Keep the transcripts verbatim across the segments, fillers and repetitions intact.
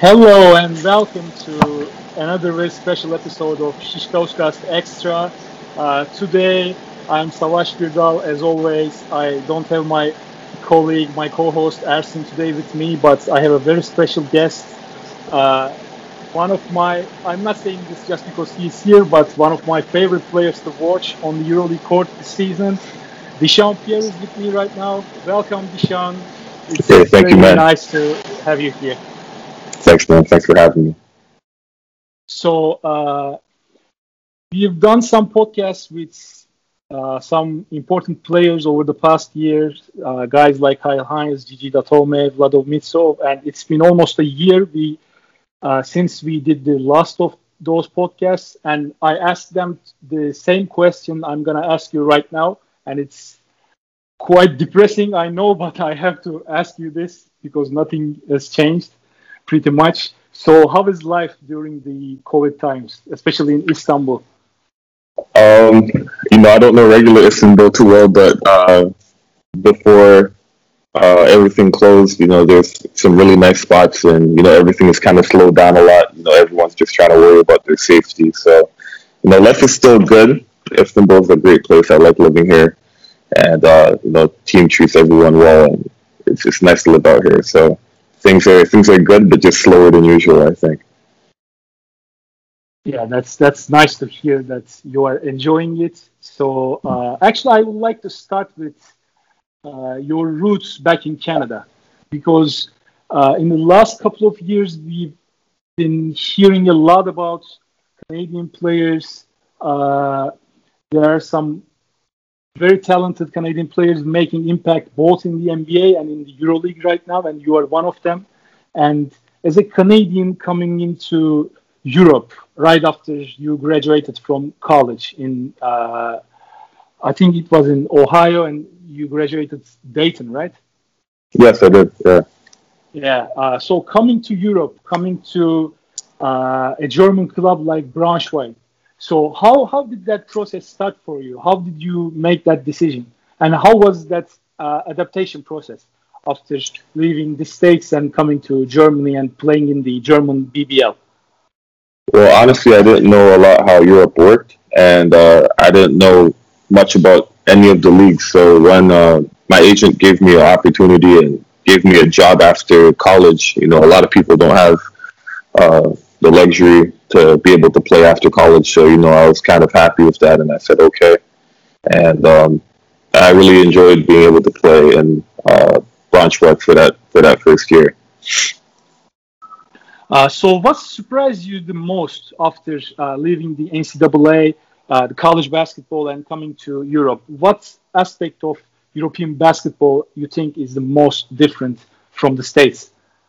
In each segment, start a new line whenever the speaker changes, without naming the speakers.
Hello and welcome to another very special episode of Shishkauscast Extra. Uh, today I'm Savaş Gürdal. As always, I don't have my colleague, my co-host Ersin today with me, but I have a very special guest. Uh, one of my, I'm not saying this just because he's here, but one of my favorite players to watch on the EuroLeague court this season. Dishan Pierre is with me right now. Welcome, Dishan. It's,
Hey,
it's
thank you,
very
man.
nice to have you here.
Thanks, man. Thanks for having me.
So uh, we've done some podcasts with uh, some important players over the past years, uh, guys like Kyle Hines, Gigi Datome, Vlado Mitsov, and it's been almost a year we uh, since we did the last of those podcasts, and I asked them the same question I'm gonna ask you right now, and it's quite depressing, I know, but I have to ask you this because nothing has changed pretty much. So, how is life during the COVID times, especially in Istanbul?
Um, you know, I don't know regular Istanbul too well, but uh, before uh, everything closed, you know, there's some really nice spots, and you know, everything is kind of slowed down a lot. You know, everyone's just trying to worry about their safety. So, you know, life is still good. Istanbul is a great place. I like living here, and uh, you know, team treats everyone well, and it's just nice to live out here. So things are things are good, but just slower than usual, I think.
Yeah, that's that's nice to hear that you are enjoying it. So, uh, actually, I would like to start with uh, your roots back in Canada, because uh, in the last couple of years we've been hearing a lot about Canadian players. Uh, there are some very talented Canadian players making impact both in the N B A and in the EuroLeague right now, and you are one of them. And as a Canadian coming into Europe right after you graduated from college in, uh, I think it was in Ohio, and you graduated Dayton, right?
Yes, I did. Yeah.
Yeah. Uh, so coming to Europe, coming to uh, a German club like Braunschweig. So how how did that process start for you? How did you make that decision? And how was that uh, adaptation process after leaving the States and coming to Germany and playing in the German B B L?
Well, honestly, I didn't know a lot how Europe worked, and uh, I didn't know much about any of the leagues. So when uh, my agent gave me an opportunity and gave me a job after college, you know, a lot of people don't have uh, the luxury to be able to play after college. So you know, I was kind of happy with that, and I said okay. And um, I really enjoyed being able to play in uh, Braunschweig for that for that first year.
Uh, so, what surprised you the most after uh, leaving the N C double A, uh, the college basketball, and coming to Europe? What aspect of European basketball you think is the most different from the States?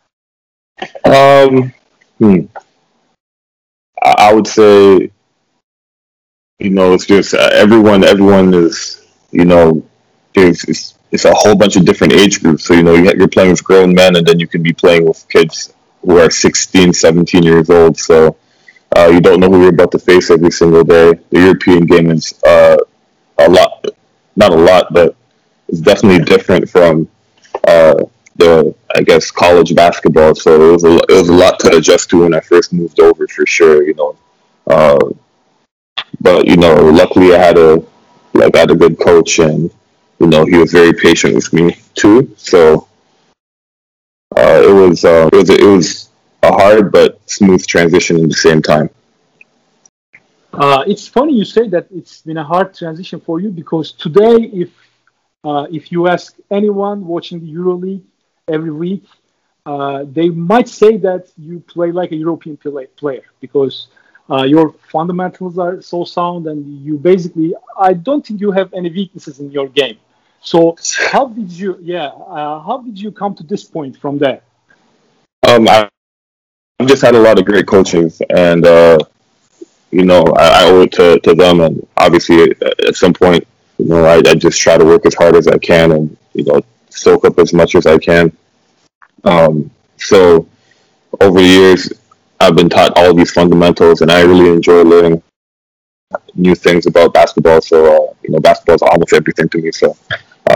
Um, hmm. I I would say, you know, it's just uh, everyone. Everyone is, you know, there's it's, it's a whole bunch of different age groups. So you know, you- you're playing with grown men, and then you can be playing with kids who are sixteen, seventeen years old. So uh, you don't know who you're about to face every single day. The European game is uh, a lot, not a lot, but it's definitely different from uh, the, I guess, college basketball. So it was a, it was a lot to adjust to when I first moved over, for sure. You know, uh, but you know, luckily I had a like I had a good coach, and you know, he was very patient with me too. So uh, it was uh, it was it was a hard but smooth transition at the same time.
Uh, it's funny you say that it's been a hard transition for you because today, if uh, if you ask anyone watching the EuroLeague every week, uh, they might say that you play like a European play, player because uh, your fundamentals are so sound and you basically, I don't think you have any weaknesses in your game. So how did you, yeah, uh, how did you come to this point from there?
Um, I, I've just had a lot of great coaches, and uh, you know, I, I owe it to, to them. And obviously, at, at some point, you know, I, I just try to work as hard as I can, and you know, soak up as much as I can. Um, so over the years, I've been taught all of these fundamentals, and I really enjoy learning new things about basketball. So uh, you know, basketball is almost everything to me. So uh,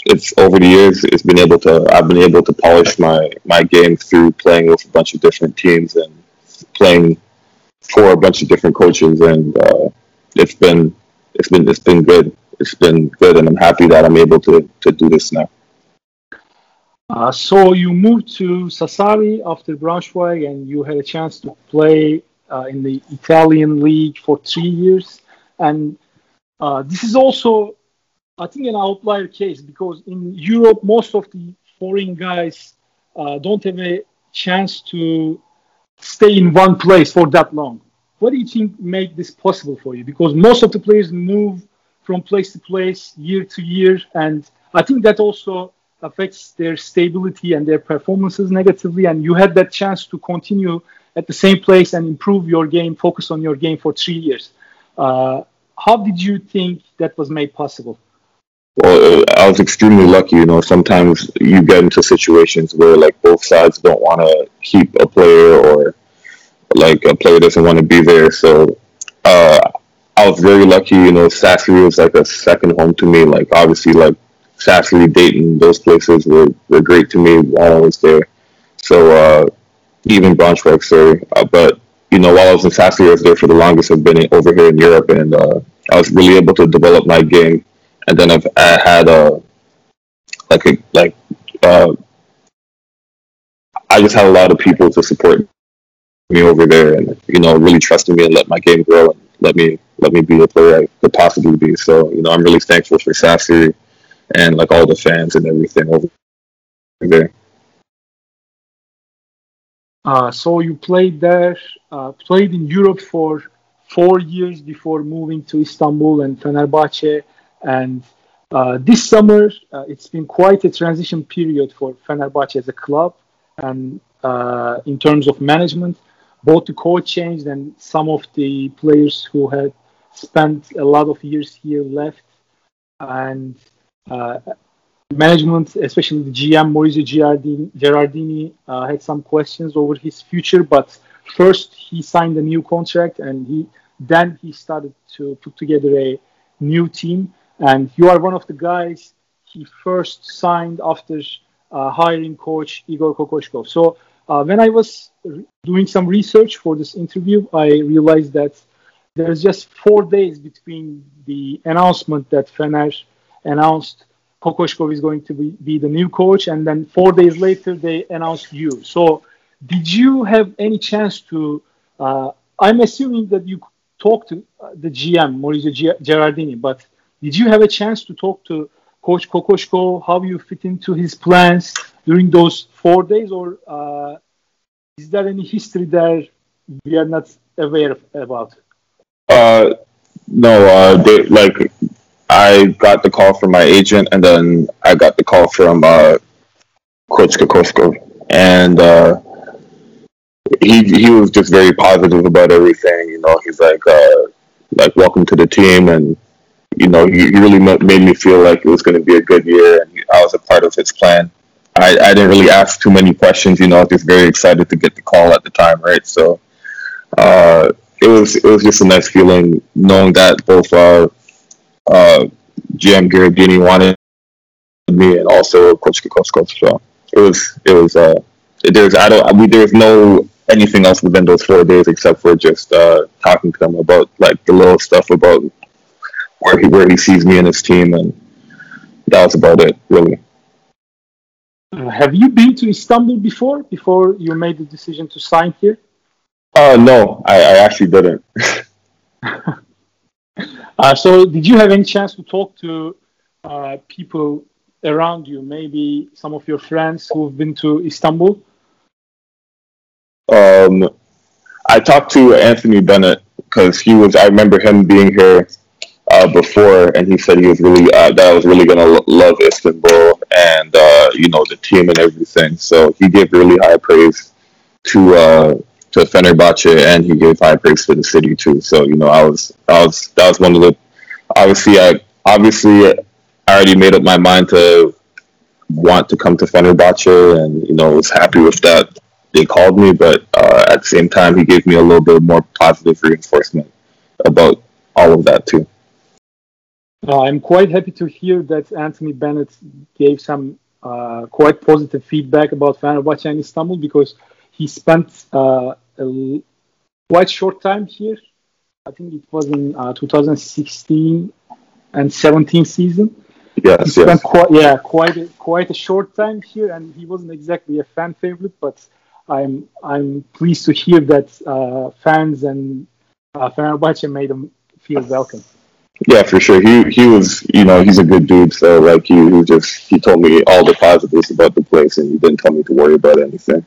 it's over the years, it's been able to I've been able to polish my my game through playing with a bunch of different teams and playing for a bunch of different coaches, and uh, it's been it's been it's been good. It's been good, and I'm happy that I'm able to to do this now.
Uh, so you moved to Sassari after Braunschweig, and you had a chance to play uh, in the Italian league for three years. And uh, this is also, I think, an outlier case because in Europe, most of the foreign guys uh, don't have a chance to stay in one place for that long. What do you think made this possible for you? Because most of the players move from place to place, year to year, and I think that also affects their stability and their performances negatively. And you had that chance to continue at the same place and improve your game, focus on your game for three years. Uh, how did you think that was made possible?
Well, I was extremely lucky. You know, sometimes you get into situations where like both sides don't want to keep a player, or like a player doesn't want to be there. So uh, I was very lucky. You know, Sassari was like a second home to me. Like obviously, like Sassari, Dayton, those places were, were great to me while I was there. So uh, even Braunschweig, sorry. Uh, but you know, while I was in Sassari, I was there for the longest. I've been over here in Europe, and uh, I was really able to develop my game. And then I've I had a like a like uh, I just had a lot of people to support me over there, and you know, really trusting me and let my game grow and let me let me be the player I could possibly be. So you know, I'm really thankful for Sassari and like all the fans and everything over there.
Uh, so you played there, uh, played in Europe for four years before moving to Istanbul and Fenerbahce. And uh, this summer, uh, it's been quite a transition period for Fenerbahce as a club. And uh, in terms of management, both the coach changed and some of the players who had spent a lot of years here left. And uh, management, especially the G M Maurizio Girardini, Gerardini, uh, had some questions over his future. But first, he signed a new contract, and he then he started to put together a new team. And you are one of the guys he first signed after uh, hiring coach Igor Kokoshkov. So uh, when I was re- doing some research for this interview, I realized that there's just four days between the announcement that Fener announced Kokoshkov is going to be, be the new coach, and then four days later they announced you. So did you have any chance to, uh, I'm assuming that you talked to uh, the G M, Maurizio Gi- Gerardini, but did you have a chance to talk to Coach Kokoshko, how you fit into his plans during those four days, or uh, is there any history there we are not aware of, about?
Uh, no, uh, they, like I got the call from my agent, and then I got the call from uh, Coach Kokoshko, and uh, he he was just very positive about everything. You know, he's like uh, like welcome to the team, and you know, he, he really made me feel like it was going to be a good year, and I was a part of his plan. I, I didn't really ask too many questions, you know. I was just very excited to get the call at the time, right? So uh, it was it was just a nice feeling knowing that both uh, uh, G M Gherardini wanted me and also Coach Kokoskov. So it was it was uh, there's I don't I mean, there's no anything else within those four days except for just uh, talking to him about like the little stuff about where he where he sees me and his team, and that was about it, really.
Uh, have you been to Istanbul before, before you made the decision to sign here?
Uh, no, I, I actually didn't.
uh, so did you have any chance to talk to uh, people around you, maybe some of your friends who've been to Istanbul?
Um, I talked to Anthony Bennett because he was. I remember him being here uh, before, and he said he was really uh, that I was really gonna lo- love Istanbul and uh, you know the team and everything. So he gave really high praise to uh, to Fenerbahce, and he gave high praise to the city too. So you know I was I was that was one of the obviously I obviously I already made up my mind to want to come to Fenerbahce, and you know was happy with that. They called me, but uh, at the same time, he gave me a little bit more positive reinforcement about all of that too.
Uh, I'm quite happy to hear that Anthony Bennett gave some uh, quite positive feedback about Fenerbahce and Istanbul because he spent uh, a l- quite short time here. I think it was in uh, two thousand sixteen and seventeen season. He
Yes,
spent
yes.
quite yeah quite a, quite a short time here, and he wasn't exactly a fan favorite. But I'm I'm pleased to hear that uh, fans and uh, Fenerbahce made him feel welcome.
Yeah, for sure. He he was, you know, he's a good dude. So like, he, he just he told me all the positives about the place, and he didn't tell me to worry about anything.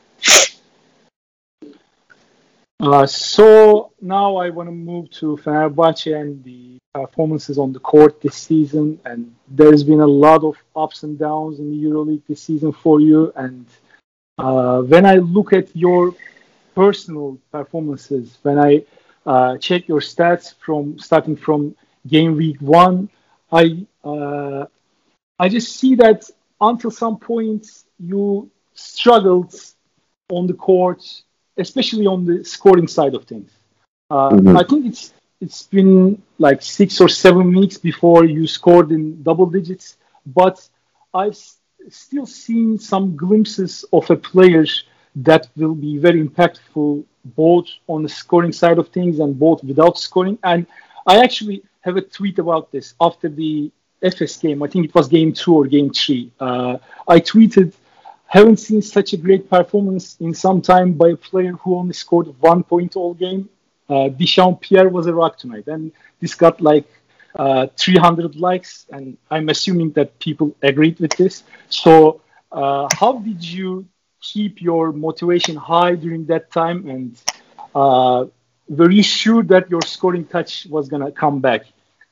Uh, so now I want to move to Fenerbahce and the performances on the court this season. And there's been a lot of ups and downs in the EuroLeague this season for you. And uh, when I look at your personal performances, when I uh, check your stats from starting from game week one, I uh, I just see that until some points you struggled on the court, especially on the scoring side of things. Uh,
Hmm.
I think it's it's been like six or seven weeks before you scored in double digits, but I've s- still seen some glimpses of a player that will be very impactful both on the scoring side of things and both without scoring. And I actually have a tweet about this after the F S game. I think it was game two or game three. Uh, I tweeted, haven't seen such a great performance in some time by a player who only scored one point all game. Uh, Deschamps Pierre was a rock tonight, and this got like uh, three hundred likes, and I'm assuming that people agreed with this. So, uh, how did you keep your motivation high during that time, and uh, were you sure that your scoring touch was gonna come back?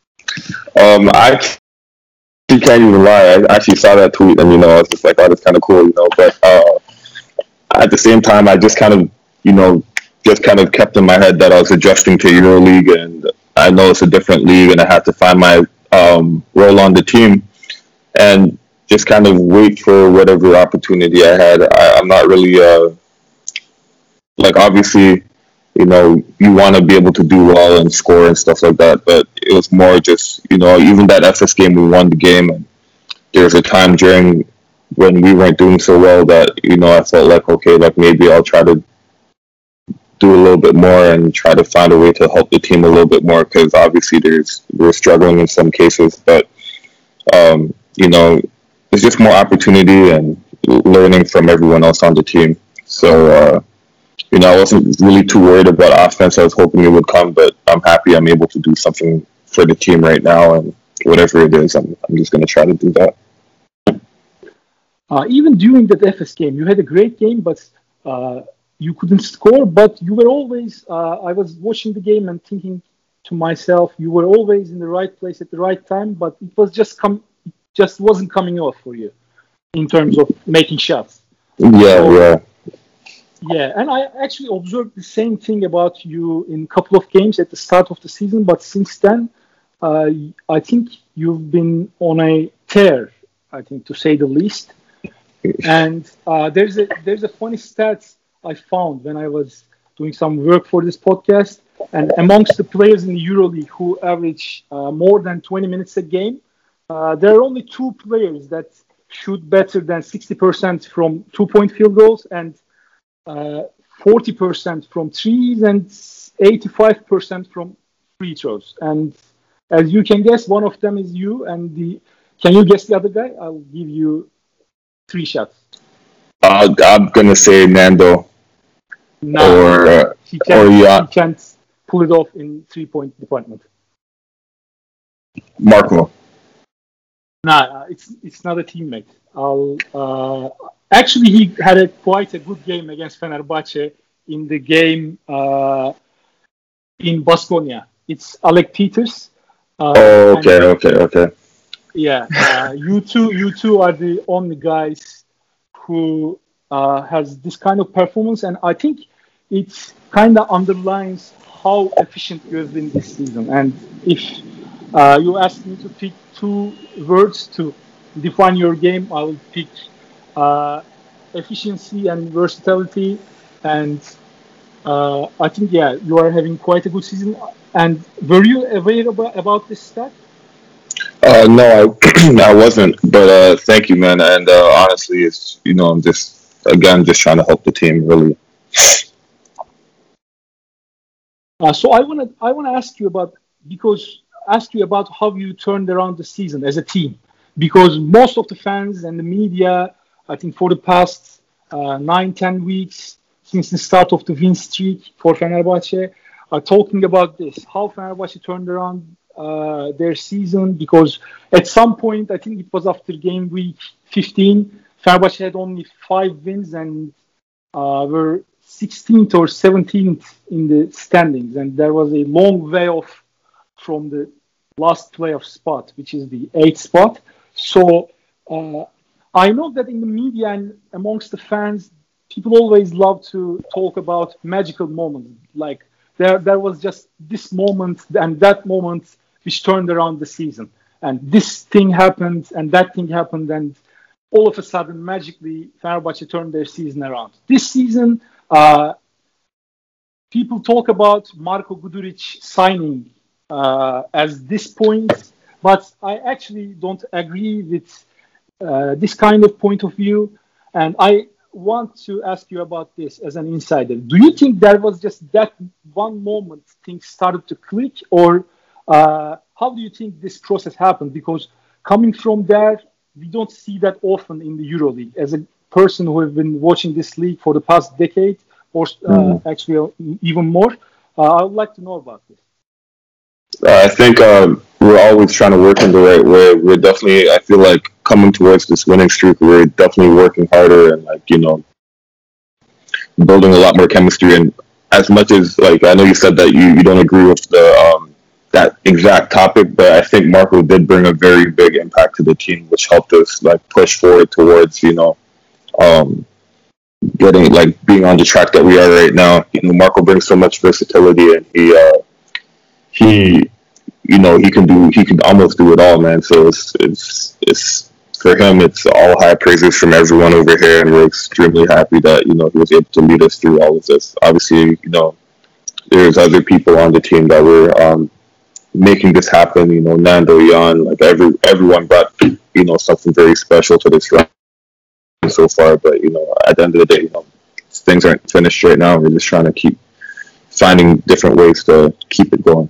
Um, I actually can't even lie. I actually saw that tweet, and you know, I was just like, oh, that's kind of cool, you know. But uh, at the same time, I just kind of, you know, just kind of kept in my head that I was adjusting to EuroLeague, and I know it's a different league, and I had to find my um, role on the team, and just kind of wait for whatever opportunity I had. I, I'm not really uh, like, obviously, you know, you want to be able to do well and score and stuff like that, but it was more just, you know, even that F S game, we won the game, and there was a time during when we weren't doing so well that, you know, I felt like, okay, like maybe I'll try to do a little bit more and try to find a way to help the team a little bit more, because obviously there's we're struggling in some cases, but um, you know, there's just more opportunity and learning from everyone else on the team. So uh, you know, I wasn't really too worried about offense. I was hoping it would come, but I'm happy I'm able to do something for the team right now, and whatever it is, I'm I'm just gonna try to do that.
Uh, even during that F S game, you had a great game, but uh, you couldn't score. But you were always. Uh, I was watching the game and thinking to myself, you were always in the right place at the right time. But it was just come, just wasn't coming off for you in terms of making shots.
Yeah,
So
yeah.
yeah, and I actually observed the same thing about you in a couple of games at the start of the season. But since then, uh, I think you've been on a tear. I think to say the least. And uh, there's a there's a funny stat I found when I was doing some work for this podcast. And amongst the players in the EuroLeague who average uh, more than twenty minutes a game, uh, there are only two players that shoot better than sixty percent from two-point field goals and uh, forty percent from threes and eighty-five percent from free throws. And as you can guess, one of them is you. And the can you guess the other guy? I'll give you three shots.
Uh, I'm gonna say Nando
Nah,
or uh,
he
or
can't.
yeah,
He can't pull it off in three point department.
Marco.
Nah, uh, it's it's not a teammate. I'll uh, actually he had a quite a good game against Fenerbahce in the game uh, in Baskonia. It's Alec Peters, uh,
Oh,
and
okay, okay, okay.
yeah, uh, you two you two are the only guys who uh, has this kind of performance, and I think it kind of underlines how efficient you have been this season. And if uh, you ask me to pick two words to define your game, I will pick uh, efficiency and versatility. And uh, I think yeah, you are having quite a good season. And were you aware about, about this stat?
Uh, no, I I wasn't, but uh, thank you, man. And uh, honestly, it's you know I'm just again just trying to help the team really.
Uh, so I want to I want to ask you about because ask you about how you turned around the season as a team, because most of the fans and the media, I think for the past uh, nine ten weeks since the start of the win streak for Fenerbahce, are talking about this how Fenerbahce turned around uh, their season, because at some point I think it was after game week fifteen, Fenerbahce had only five wins and uh, were sixteenth or seventeenth in the standings, and there was a long way off from the last playoff spot, which is the eighth spot. So uh, I know that in the media and amongst the fans, people always love to talk about magical moments. Like there, there was just this moment and that moment which turned around the season, and this thing happened and that thing happened, and all of a sudden, magically, Fenerbahce turned their season around. This season, uh, people talk about Marko Guduric signing uh, as this point, but I actually don't agree with uh, this kind of point of view. And I want to ask you about this as an insider. Do you think there was just that one moment things started to click, or uh, how do you think this process happened? Because coming from there, we don't see that often in the EuroLeague. As a person who has been watching this league for the past decade, or uh,
Mm-hmm.
actually uh, even more, uh, I would like to know about this.
Uh, I think um, we're always trying to work in the right way. We're definitely, I feel like coming towards this winning streak, we're definitely working harder and like you know building a lot more chemistry. And as much as like I know you said that you, you don't agree with the um, that exact topic, but I think Marco did bring a very big impact to the team, which helped us like push forward towards you know um, getting like being on the track that we are right now. You know, Marco brings so much versatility, and he uh, he you know he can do he can almost do it all, man. So it's it's it's for him. It's all high praises from everyone over here, and we're extremely happy that you know he was able to lead us through all of this. Obviously, you know there's other people on the team that were um, making this happen. You know, Nando, Jan, like every everyone brought you know something very special to this run so far. But you know, at the end of the day, you know, things aren't finished right now. We're just trying to keep finding different ways to keep it going.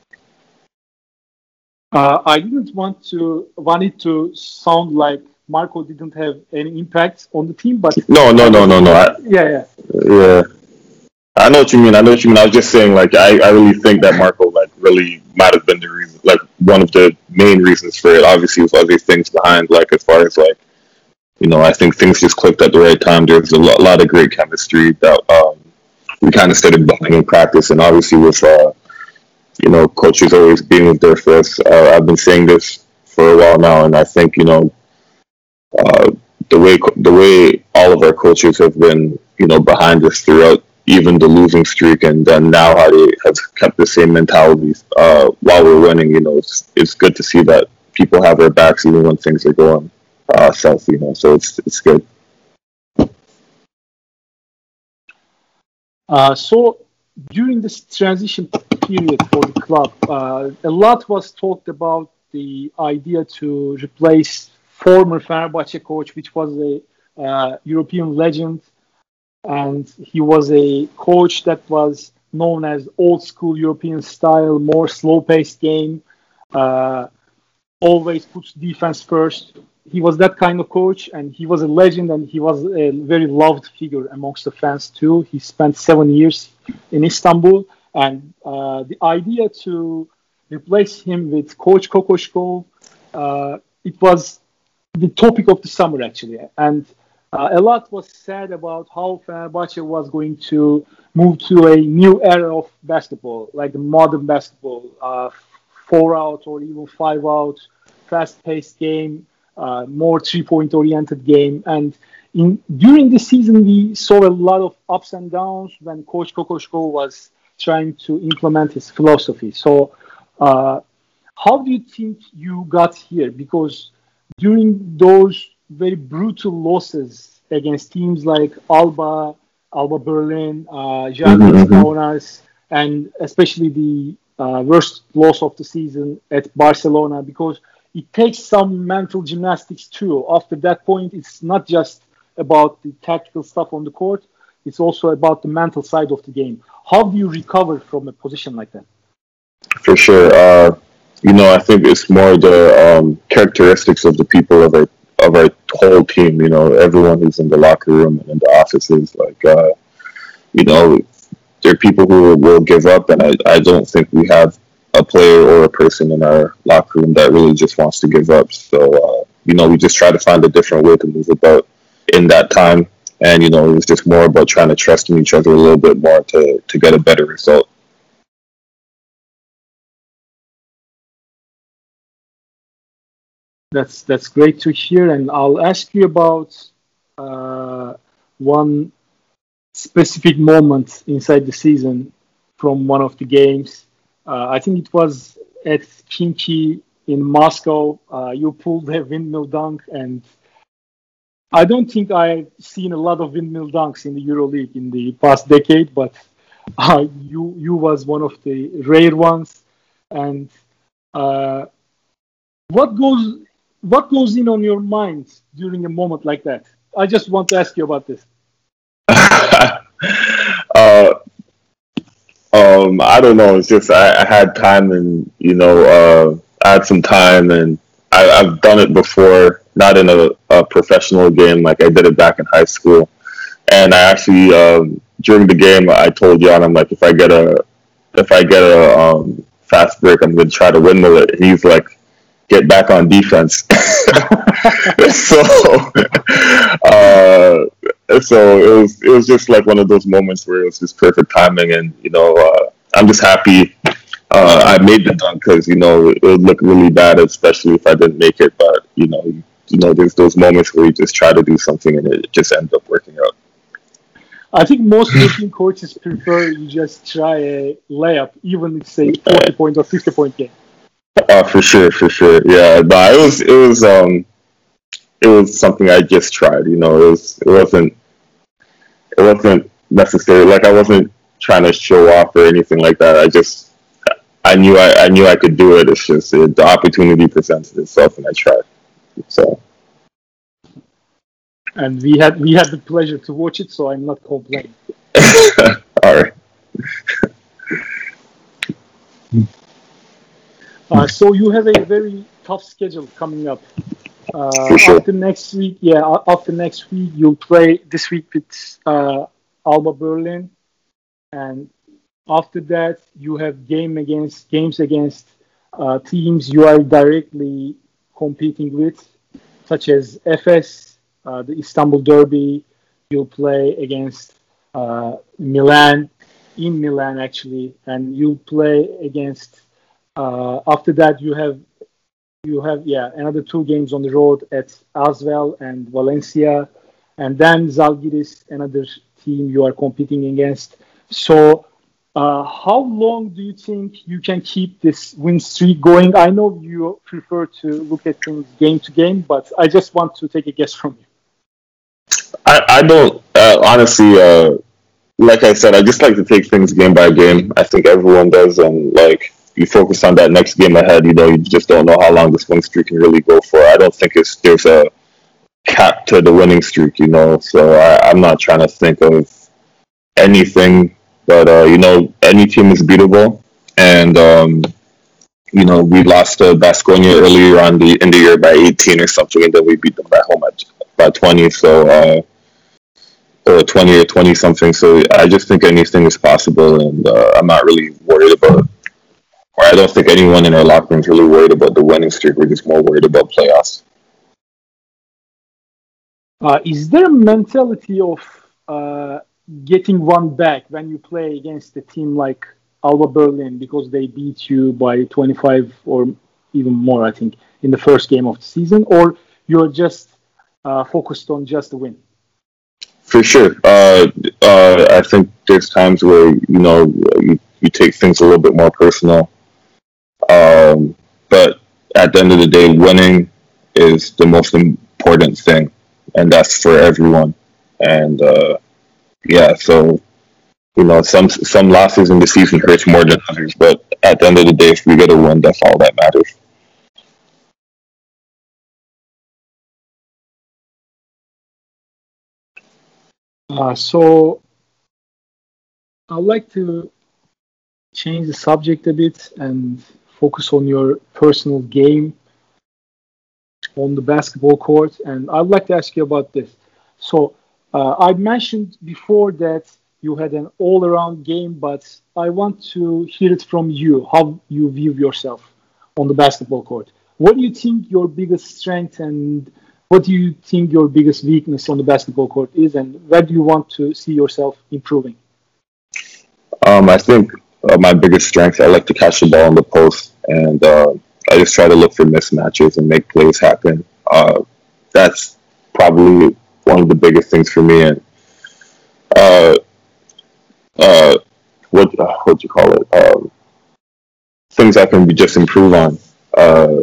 Uh, I didn't want to want it to sound like Marco didn't have any impact on the team, but
No, no,
there
no,
was a
no, no.
lot.
I,
Yeah, yeah.
yeah, I know what you mean. I know what you mean. I was just saying, like, I, I really think that Marco, like, really might have been the reason, like, one of the main reasons for it. Obviously, with other things behind, like, as far as like, you know, I think things just clicked at the right time. There's a lot, lot of great chemistry that um, we kind of started building in practice, and obviously with uh, you know, coaches always being there for us. Uh, I've been saying this for a while now, and I think you know uh, the way the way all of our coaches have been, you know, behind us throughout even the losing streak, and then now how they have kept the same mentality uh, while we're winning. You know, it's it's good to see that people have their backs even when things are going uh, south. You know, so it's it's good.
Uh, so during this transition period for the club, uh, a lot was talked about the idea to replace former Fenerbahce coach, which was a uh, European legend, and he was a coach that was known as old school European style, more slow paced game. Uh, Always puts defense first. He was that kind of coach, and he was a legend, and he was a very loved figure amongst the fans too. He spent seven years in Istanbul, and uh, the idea to replace him with Coach Kokoschkov, uh, it was the topic of the summer actually, and uh, a lot was said about how Fenerbahce was going to move to a new era of basketball, like the modern basketball, uh, four out or even five out, fast-paced game, uh, more three-point oriented game. And in during the season, we saw a lot of ups and downs when Coach Kokoschko was trying to implement his philosophy. So, uh, how do you think you got here? Because during those very brutal losses against teams like Alba, Alba Berlin, uh, Žalgiris
Mm-hmm,
Kaunas, and especially the uh, worst loss of the season at Barcelona, because it takes some mental gymnastics too. After that point, it's not just about the tactical stuff on the court; it's also about the mental side of the game. How do you recover from a position like that?
For sure. Uh, you know, I think it's more the um, characteristics of the people of our of our whole team. You know, everyone who's in the locker room and in the offices. Like, uh, you know, there are people who will give up, and I, I don't think we have a player or a person in our locker room that really just wants to give up. So, uh, you know, we just try to find a different way to move about in that time. And, you know, it was just more about trying to trust in each other a little bit more to, to get a better result.
That's that's great to hear, and I'll ask you about uh, one specific moment inside the season from one of the games. Uh, I think it was at Khimki in Moscow. Uh, you pulled a windmill dunk, and I don't think I've seen a lot of windmill dunks in the EuroLeague in the past decade, but uh, you you was one of the rare ones. And uh, what goes what goes in on your mind during a moment like that? I just want to ask you about this.
uh, um, I don't know. It's just I, I had time, and you know, uh, I had some time, and I, I've done it before, not in a, a professional game like I did it back in high school. And I actually um, during the game I told Jan, I'm like, if I get a if I get a um, fast break, I'm gonna try to windmill it. And he's like, get back on defense. so, uh, so it was it was just like one of those moments where it was just perfect timing, and you know, uh, I'm just happy uh, I made the dunk because you know it would look really bad, especially if I didn't make it. But you know, you, you know, there's those moments where you just try to do something and it just ends up working out.
I think most European coaches prefer you just try a layup, even if say forty point or fifty point game.
Uh, for sure, for sure, yeah. But it was, it was, um, it was something I just tried. You know, it was, it wasn't, it wasn't necessary. Like I wasn't trying to show off or anything like that. I just, I knew, I, I knew I could do it. It's just uh, the opportunity presented itself, and I tried. So.
And we had we had the pleasure to watch it, so I'm not complaining.
All right.
Uh, so you have a very tough schedule coming up. Uh,
sure.
After next week, yeah, after next week you'll play this week with uh, Alba Berlin, and after that you have game against games against uh, teams you are directly competing with, such as Efes, uh, the Istanbul Derby. You'll play against uh, Milan, in Milan actually, and you'll play against. Uh, after that, you have you have yeah another two games on the road at Asvel and Valencia, and then Zalgiris, another team you are competing against. So, uh, how long do you think you can keep this win streak going? I know you prefer to look at things game to game, but I just want to take a guess from you.
I, I don't uh, honestly. Uh, like I said, I just like to take things game by game. I think everyone does, and like. You focus on that next game ahead, you know, you just don't know how long this win streak can really go for. I don't think it's there's a cap to the winning streak, you know, so I, I'm not trying to think of anything, but, uh, you know, any team is beatable. And, um, you know, we lost to Baskonia earlier on the, in the year by eighteen or something, and then we beat them at home at, by twenty, so, uh, or twenty or twenty something. So I just think anything is possible, and uh, I'm not really worried about it. Or I don't think anyone in our locker room is really worried about the winning streak. We're just more worried about playoffs.
Uh, is there a mentality of uh, getting one back when you play against a team like Alba Berlin because they beat you by twenty-five or even more, I think, in the first game of the season? Or you're just uh, focused on just the win?
For sure. Uh, uh, I think there's times where, you know, you, you take things a little bit more personal. Um, but at the end of the day, winning is the most important thing, and that's for everyone. And uh, yeah, so you know, some some losses in the season hurts more than others, but at the end of the day, if we get a win, that's all that matters.
Uh, so I'd like to change the subject a bit and focus on your personal game on the basketball court. And I'd like to ask you about this. So uh, I mentioned before that you had an all-around game, but I want to hear it from you, how you view yourself on the basketball court. What do you think your biggest strength and what do you think your biggest weakness on the basketball court is, and where do you want to see yourself improving?
Um, I think uh, my biggest strength, I like to catch the ball in the post, and uh, I just try to look for mismatches and make plays happen. Uh, that's probably one of the biggest things for me. And uh, uh, what uh, what do you call it? Um, things I can be just improve on. Uh,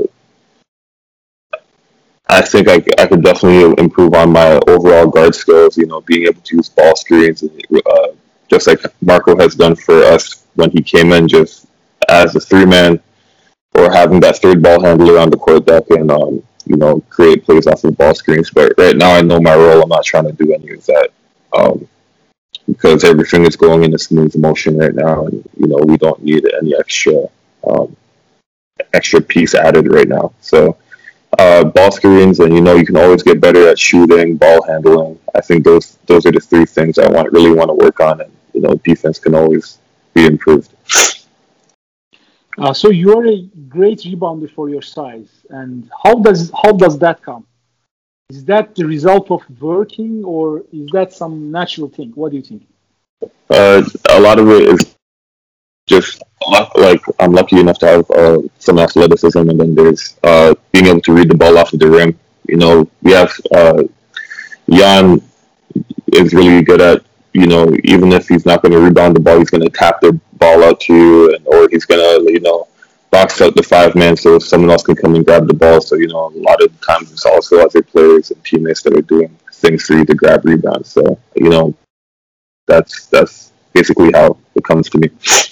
I think I, I could definitely improve on my overall guard skills. You know, being able to use ball screens, and, uh, just like Marco has done for us when he came in, just as a three man or having that third ball handler on the court that can, um, you know, create plays off of ball screens. But right now, I know my role. I'm not trying to do any of that um, because everything is going in a smooth motion right now, and you know, we don't need any extra um, extra piece added right now. So uh, ball screens, and you know, you can always get better at shooting, ball handling. I think those those are the three things I want really want to work on, and you know, defense can always be improved.
Uh, so you're a great rebounder for your size, and how does how does that come? Is that the result of working, or is that some natural thing? What do you think?
Uh, a lot of it is just like I'm lucky enough to have uh, some athleticism, and then there's uh, being able to read the ball off of the rim. You know, we have uh, Jan is really good at, you know, even if he's not going to rebound the ball, he's going to tap the ball out to you, and or he's going to, you know, box out the five man so someone else can come and grab the ball. So, you know, a lot of times it's also other players and teammates that are doing things for you to grab rebounds. So, you know, that's that's basically how it comes to me.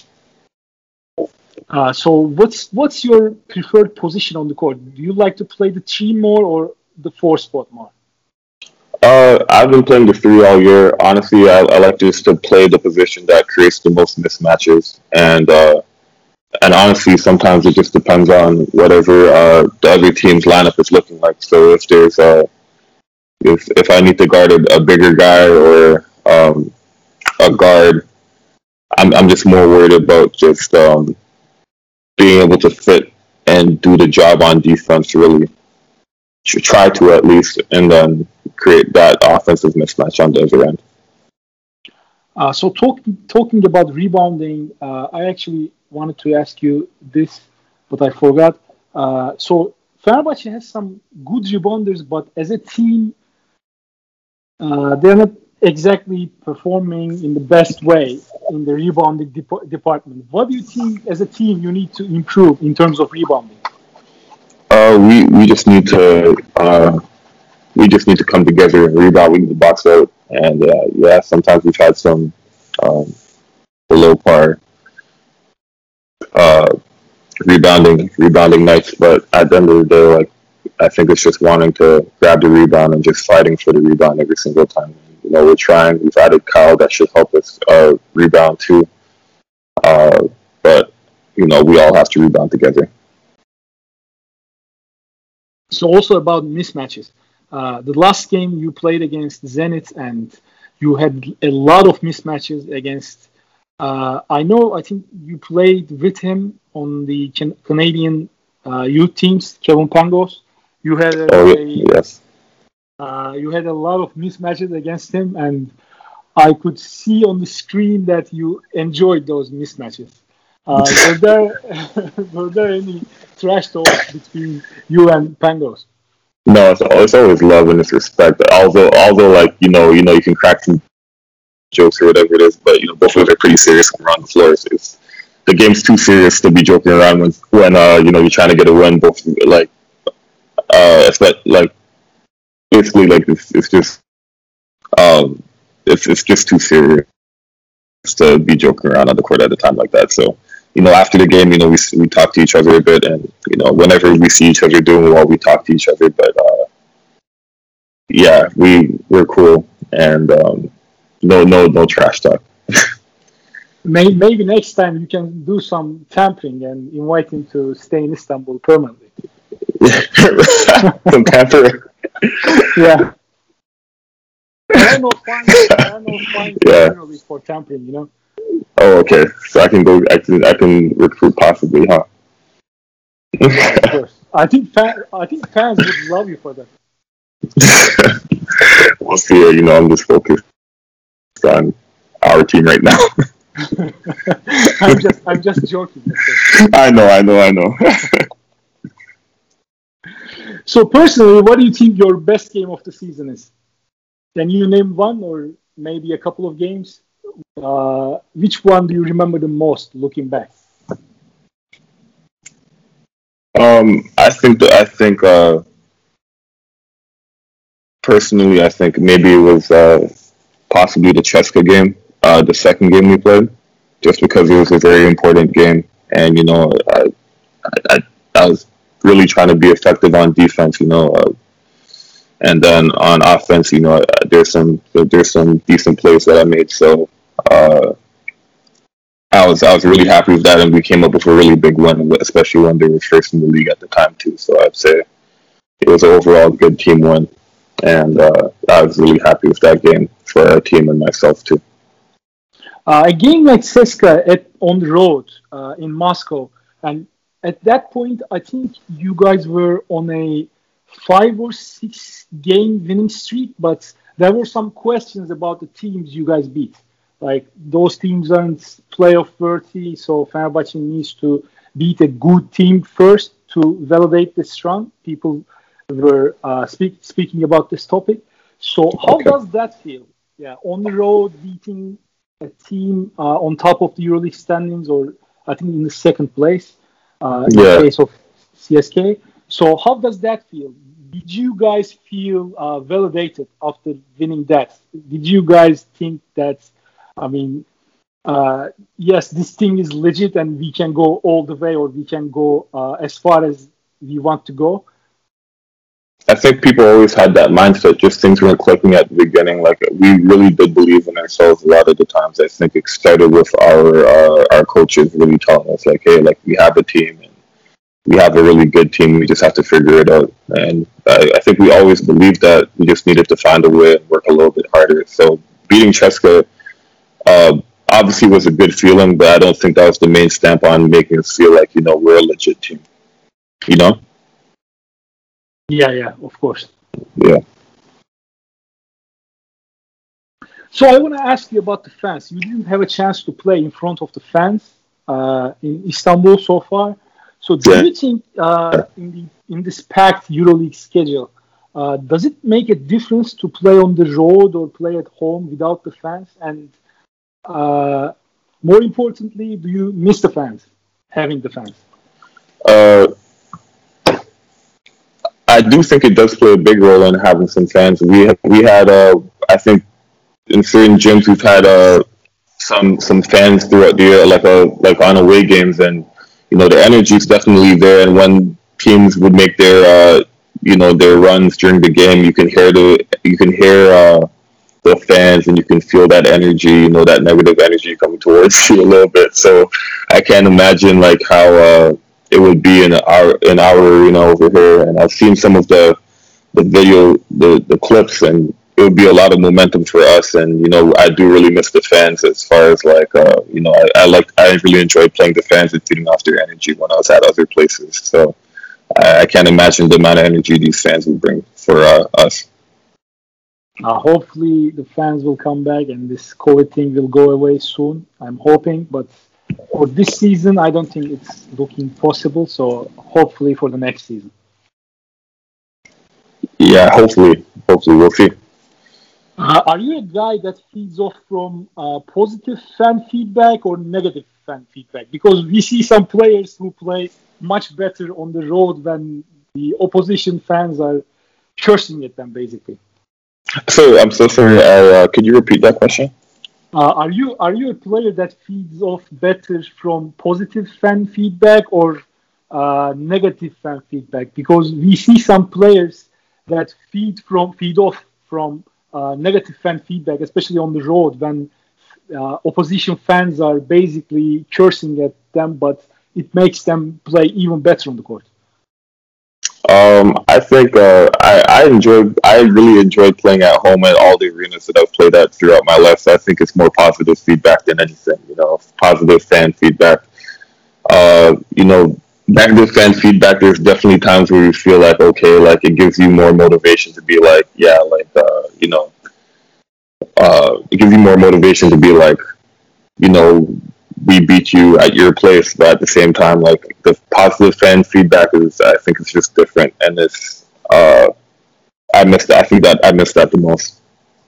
Uh, so what's what's your preferred position on the court? Do you like to play the three more or the four spot more?
Uh, I've been playing the three all year. Honestly, I, I like just to play the position that creates the most mismatches, and uh, and honestly, sometimes it just depends on whatever uh, the other team's lineup is looking like. So if there's a if if I need to guard a, a bigger guy or um, a guard, I'm I'm just more worried about just um, being able to fit and do the job on defense. Really, try to at least, and then create that offensive mismatch on the other end.
Uh, so talking talking about rebounding, uh, I actually wanted to ask you this, but I forgot. Uh, so Fenerbahce has some good rebounders, but as a team, uh, they're not exactly performing in the best way in the rebounding dep- department. What do you think as a team you need to improve in terms of rebounding?
Uh, we we just need to uh, we just need to come together and rebound. We need to box out, and uh, yeah, sometimes we've had some um, below par uh, rebounding rebounding nights, but at the end of the day, like I think it's just wanting to grab the rebound and just fighting for the rebound every single time. You know, we're trying. We've added Kyle that should help us uh, rebound too, uh, but you know, we all have to rebound together.
So also about mismatches. Uh, the last game you played against Zenit, and you had a lot of mismatches against. Uh, I know. I think you played with him on the can- Canadian uh, youth teams, Kevin Pangos. You had a,
Oh
a
yes,
uh, you had a lot of mismatches against him, and I could see on the screen that you enjoyed those mismatches. Uh, were there were there any trash talks between you and Pangos?
no, it's, it's always love and it's respect. Although although like you know you know you can crack some jokes or whatever it is, but you know both of us are pretty serious when we're on the floor. So it's, the game's too serious to be joking around when when uh you know you're trying to get a win. Both like uh it's like, like basically like it's, it's just um it's it's just too serious to be joking around on the court at a time like that. So you know after the game, you know we we talk to each other a bit, and you know whenever we see each other doing well, we talk to each other. But uh, yeah, we we're cool, and um, no, no, no trash talk.
Maybe, maybe next time you can do some tampering and invite him to stay in Istanbul permanently.
Some tamper.
Yeah. There are no fines. There are no fines
Yeah.
generally for tampering, you know.
Oh, okay. So I can go. I can. I can recruit possibly, huh?
Yeah, of course. I think fa- I think fans would love you for that.
We'll see. You know, I'm just focused on our team right now.
I'm just I'm just joking.
I know. I know. I know.
So personally, what do you think your best game of the season is? Can you name one or maybe a couple of games? Uh, which one do you remember the most looking back?
Um, I think that I think uh, personally, I think maybe it was uh, possibly the Cheska game, uh, the second game we played, just because it was a very important game, and you know, I, I, I was really trying to be effective on defense, you know, uh, and then on offense, you know, uh, there's some there's some decent plays that I made, so uh, I was I was really happy with that, and we came up with a really big win, especially when they were first in the league at the time too. So I'd say it was an overall good team win, and uh, I was really happy with that game for our team and myself too.
Uh, a game like Ceska at on the road uh, in Moscow, and at that point, I think you guys were on a five or six game winning streak, but there were some questions about the teams you guys beat. Like those teams aren't playoff worthy, so Fenerbahce needs to beat a good team first to validate this run. People were uh, speak, speaking about this topic. So how
Okay.
does that feel? Yeah, on the road beating a team uh, on top of the EuroLeague standings, or I think in the second place uh, in
Yeah.
the case of C S K. So how does that feel? Did you guys feel uh, validated after winning that? Did you guys think that, I mean, uh, yes, this thing is legit and we can go all the way, or we can go uh, as far as we want to go?
I think people always had that mindset. Just things weren't clicking at the beginning. Like we really did believe in ourselves a lot of the times. I think it started with our uh, our coaches really telling us, like, "Hey, like we have a team and we have a really good team. We just have to figure it out." And I, I think we always believed that. We just needed to find a way and work a little bit harder. So beating Cheska uh, obviously was a good feeling, but I don't think that was the main stamp on making us feel like, you know, we're a legit team. You know?
Yeah, yeah, of course.
Yeah.
So I want to ask you about the fans. You didn't have a chance to play in front of the fans uh, in Istanbul so far. So do
Yeah.
you think uh, in the in this packed EuroLeague schedule, uh, does it make a difference to play on the road or play at home without the fans? And uh, more importantly, do you miss the fans, having the fans?
Uh, I do think it does play a big role in having some fans. We have, we had uh, I think in certain gyms we've had uh, some some fans throughout the year, like a like on away games, and you know the energy is definitely there. And when teams would make their uh, you know their runs during the game, you can hear the you can hear uh, the fans, and you can feel that energy, you know that negative energy coming towards you a little bit. So I can't imagine like how uh, it would be in our in our you know over here. And I've seen some of the the video, the the clips, and it would be a lot of momentum for us. And you know, I do really miss the fans as far as like uh, you know, I, I like I really enjoyed playing the fans and feeding off their energy when I was at other places. So I, I can't imagine the amount of energy these fans would bring for uh, us.
Uh, hopefully, the fans will come back and this COVID thing will go away soon. I'm hoping, but for this season, I don't think it's looking possible. So hopefully for the next season.
Yeah, hopefully, hopefully we'll see.
Uh, are you a guy that feeds off from uh, positive fan feedback or negative fan feedback? Because we see some players who play much better on the road when the opposition fans are cursing at them, basically.
So I'm so sorry. I, uh, could you repeat that question?
Uh, are you are you a player that feeds off better from positive fan feedback or uh, negative fan feedback? Because we see some players that feed from feed off from uh, negative fan feedback, especially on the road when uh, opposition fans are basically cursing at them, but it makes them play even better on the court.
Um, I think uh, I, I enjoyed. I really enjoyed playing at home at all the arenas that I've played at throughout my life. So I think it's more positive feedback than anything. You know, positive fan feedback. Uh, you know, negative fan feedback. There's definitely times where you feel like, okay, like it gives you more motivation to be like, yeah, like uh, you know, uh, it gives you more motivation to be like, you know, we beat you at your place, but at the same time, like the positive fan feedback is, I think it's just different, and it's, uh, I miss that. I think that I miss that the most.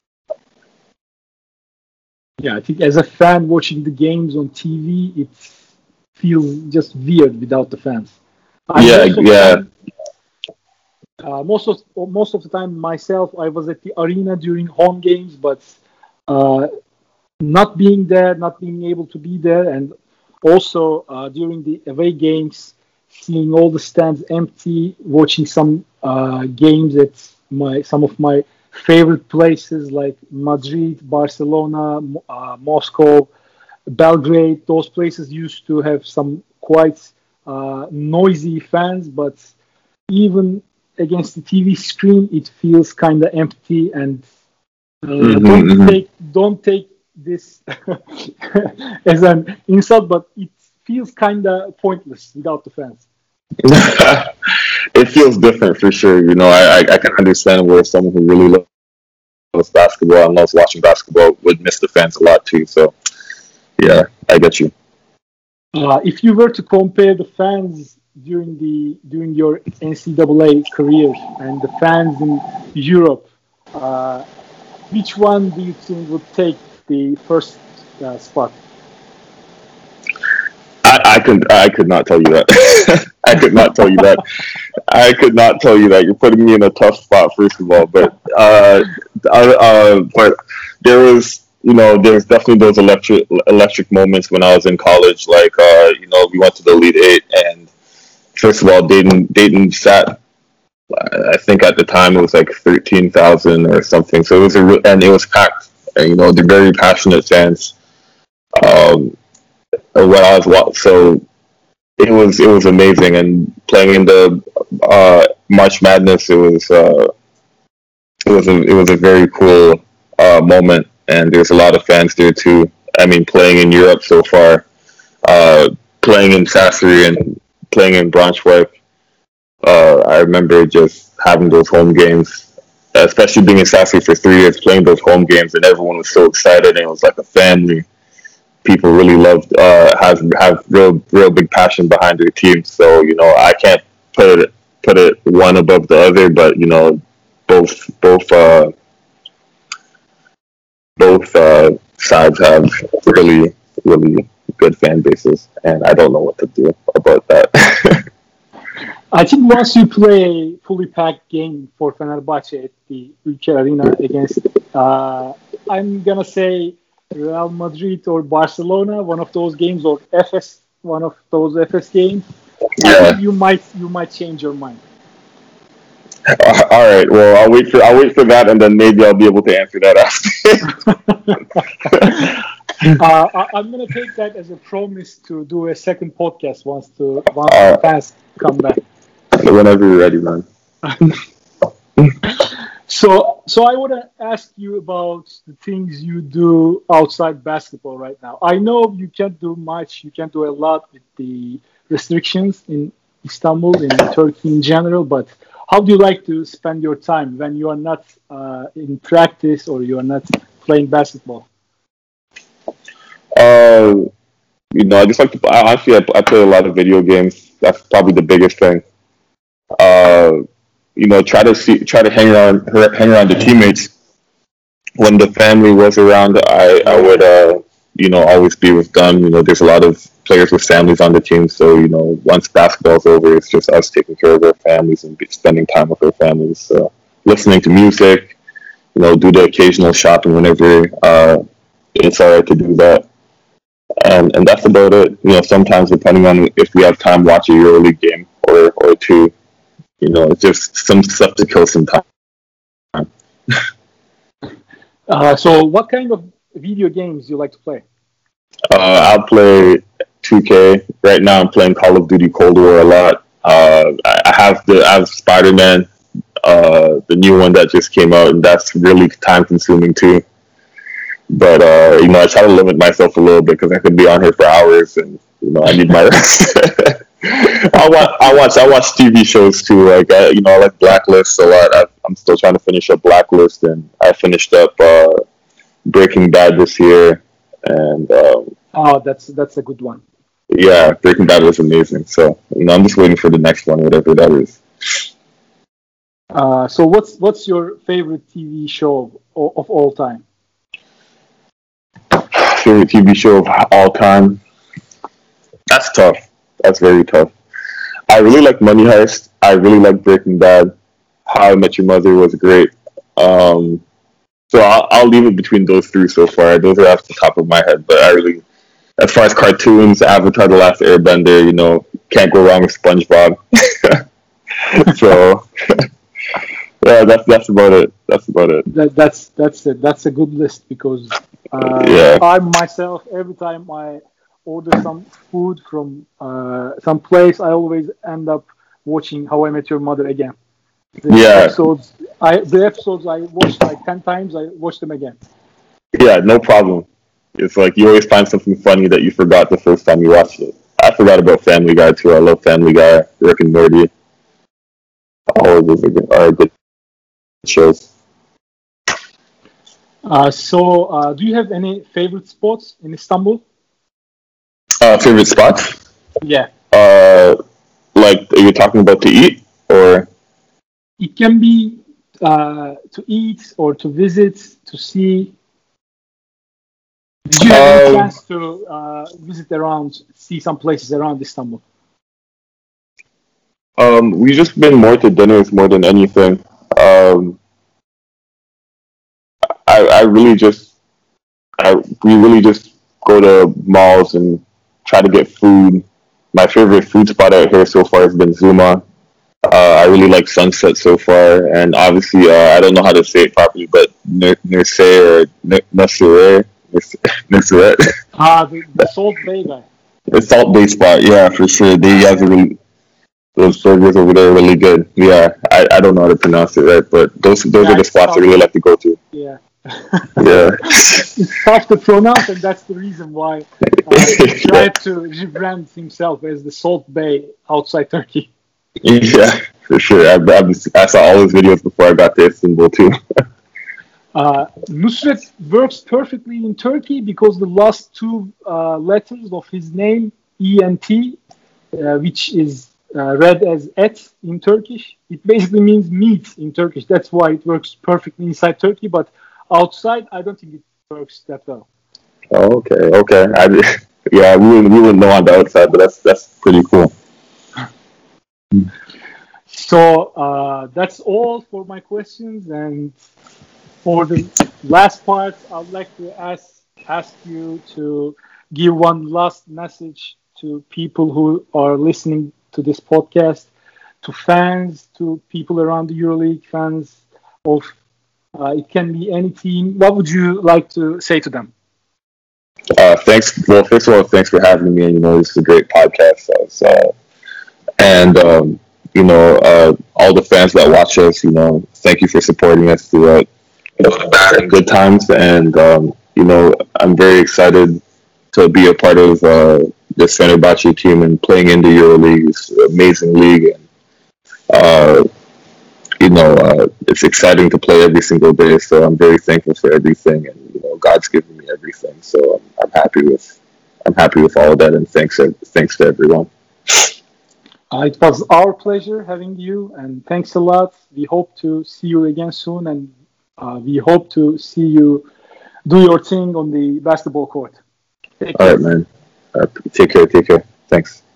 Yeah, I think as a fan watching the games on T V, it feels just weird without the fans. I
Yeah,
most of the
yeah,
time, uh, most of most of the time myself, I was at the arena during home games, but uh, not being there, not being able to be there, and also uh, during the away games, seeing all the stands empty, watching some uh, games at my some of my favorite places like Madrid, Barcelona, uh, Moscow, Belgrade. Those places used to have some quite uh, noisy fans, but even against the T V screen, it feels kind of empty. And uh,
hmm
don't
hmm
take don't take this as an insult, but it feels kind of pointless without the fans.
it feels different for sure. You know, I, I I can understand where someone who really loves basketball and loves watching basketball would miss the fans a lot too. So yeah, I get you.
Uh, if you were to compare the fans during the during your N C double A career and the fans in Europe, uh, which one do you think would take the first uh, spot?
I, I could I could not tell you that. I could not tell you that. I could not tell you that. You're putting me in a tough spot, first of all. But uh, uh, uh, but there was, you know, there's definitely those electric electric moments when I was in college. Like, uh, you know, we went to the Elite Eight, and first of all, Dayton Dayton sat. I think at the time it was like thirteen thousand or something. So it was a re- and it was packed. And, you know, they're very passionate fans. Um, when I was wa- so it was it was amazing, and playing in the uh, March Madness, it was uh, it was a it was a very cool uh, moment, and there's a lot of fans there too. I mean, playing in Europe so far, uh, playing in Sassari and playing in Braunschweig, uh, I remember just having those home games, especially being in Sassari for three years, playing those home games, and everyone was so excited, and it was like a family. People really loved uh, have have real real big passion behind their team. So you know, I can't put it put it one above the other, but you know, both both uh, both uh, sides have really really good fan bases, and I don't know what to do about that.
I think once you play a fully packed game for Fenerbahce at the Ülker Arena against, uh, I'm gonna say Real Madrid or Barcelona, one of those games, or F S, one of those F S games, I think
Yeah.
you might you might change your mind.
Uh, All right. Well, I'll wait for I'll wait for that, and then maybe I'll be able to answer that after.
uh, I, I'm gonna take that as a promise to do a second podcast once to once the
uh,
fans come back.
Whenever you're ready, man.
So, so I want to ask you about the things you do outside basketball right now. I know you can't do much, you can't do a lot with the restrictions in Istanbul, in Turkey in general, but how do you like to spend your time when you are not uh, in practice or you are not playing basketball?
Uh, you know, I just like to. I, Honestly, I, I play a lot of video games. That's probably the biggest thing. Uh, you know, try to see, try to hang around, hang around the teammates. When the family was around, I, I would, uh, you know, always be with them. You know, there's a lot of players with families on the team, so you know, once basketball's over, it's just us taking care of our families and be, spending time with our families. So, listening to music, you know, do the occasional shopping whenever uh, it's alright to do that. And and that's about it. You know, sometimes depending on if we have time, watch a EuroLeague game or or two. You know, just some stuff to kill some time.
Uh, so, what kind of video games do you like to play?
Uh, I'll play two K. Right now, I'm playing Call of Duty Cold War a lot. Uh, I have the I have Spider Man, uh, the new one that just came out, and that's really time consuming too. But uh, you know, I try to limit myself a little bit because I could be on here for hours, and you know, I need my rest. I watch, I watch, I watch T V shows too. Like, I, you know, I like Blacklist a lot. I, I'm still trying to finish up Blacklist, and I finished up uh, Breaking Bad this year, and um,
Oh, that's that's a good one.
yeah, Breaking Bad was amazing. So, you know, I'm just waiting for the next one, whatever that is.
Uh, so, what's what's your favorite T V show of, of all time?
Favorite T V show of all time? That's tough. That's very tough. I really like Money Heist. I really like Breaking Bad. How I Met Your Mother was great. Um, so I'll, I'll leave it between those three so far. Those are off the top of my head, but I really, as far as cartoons, Avatar: The Last Airbender, you know, can't go wrong with SpongeBob. So yeah, that's that's about it. That's about it.
That, that's that's a, that's a good list because uh,
Yeah.
I myself every time I order some food from uh, some place, I always end up watching How I Met Your Mother again. The
Yeah.
episodes I the episodes I watched like ten times, I watch them again.
Yeah, no problem. It's like you always find something funny that you forgot the first time you watched it. I forgot about Family Guy too. I love Family Guy, Rick and Morty. All of those are good, are good shows.
Uh, so, uh, do you have any favorite spots in Istanbul?
Uh, favorite spots?
Yeah,
Uh, like, are you talking about to eat or?
it can be uh, to eat or to visit, to see. Did you have any
Um,
chance to uh, visit around, see some places around Istanbul?
um, we just been more to dinners more than anything. Um, I, I really just, I we really just go to malls and try to get food. My favorite food spot out here so far has been Zuma. Uh, I really like Sunset so far, and obviously, uh, I don't know how to say it properly, but Nurse or Nusret, Nusret,
Ah, the, the Salt Bay guy.
the Salt Bay spot, yeah, for sure. They have a really, those burgers over there are really good. Yeah, I, I don't know how to pronounce it right, but those those
Yeah,
are the
it's
spots I
tough.
really like to go to.
Yeah.
Yeah,
It's tough to pronounce, and that's the reason why uh, he tried to rebrand himself as the Salt Bay outside Turkey.
yeah, for sure. I, I, I saw all his videos before I got to Istanbul too.
Uh, Nusret works perfectly in Turkey because the last two uh, letters of his name, E and T, uh, which is uh, read as et in Turkish, it basically means meat in Turkish. That's why it works perfectly inside Turkey, but outside, I don't think it works that well.
Oh, okay, okay. I, yeah, we wouldn't, we wouldn't know on the outside, but that's that's pretty cool.
So uh, that's all for my questions. And for the last part, I'd like to ask ask you to give one last message to people who are listening to this podcast, to fans, to people around the EuroLeague, fans of uh, it can be any team. What would you like to say to them?
Uh, thanks. Well, first of all, thanks for having me. And you know, this is a great podcast. So, uh, and um, you know, uh, all the fans that watch us, you know, thank you for supporting us throughout you know, bad and good times. And um, you know, I'm very excited to be a part of uh, this Fenerbahce team and playing in the EuroLeague. It's an amazing league. And, uh, you know, uh, it's exciting to play every single day. So I'm very thankful for everything, and you know, God's given me everything. So I'm, I'm happy with, I'm happy with all of that, and thanks, thanks to everyone.
Uh, it was our pleasure having you, and thanks a lot. We hope to see you again soon, and uh, we hope to see you do your thing on the basketball court. Take
All
care.
right, man. Uh, take care. Take care. Thanks.